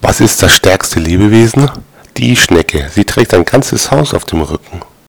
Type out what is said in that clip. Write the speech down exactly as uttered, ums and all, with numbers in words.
Was ist das stärkste Lebewesen? Die Schnecke. Sie trägt ein ganzes Haus auf dem Rücken.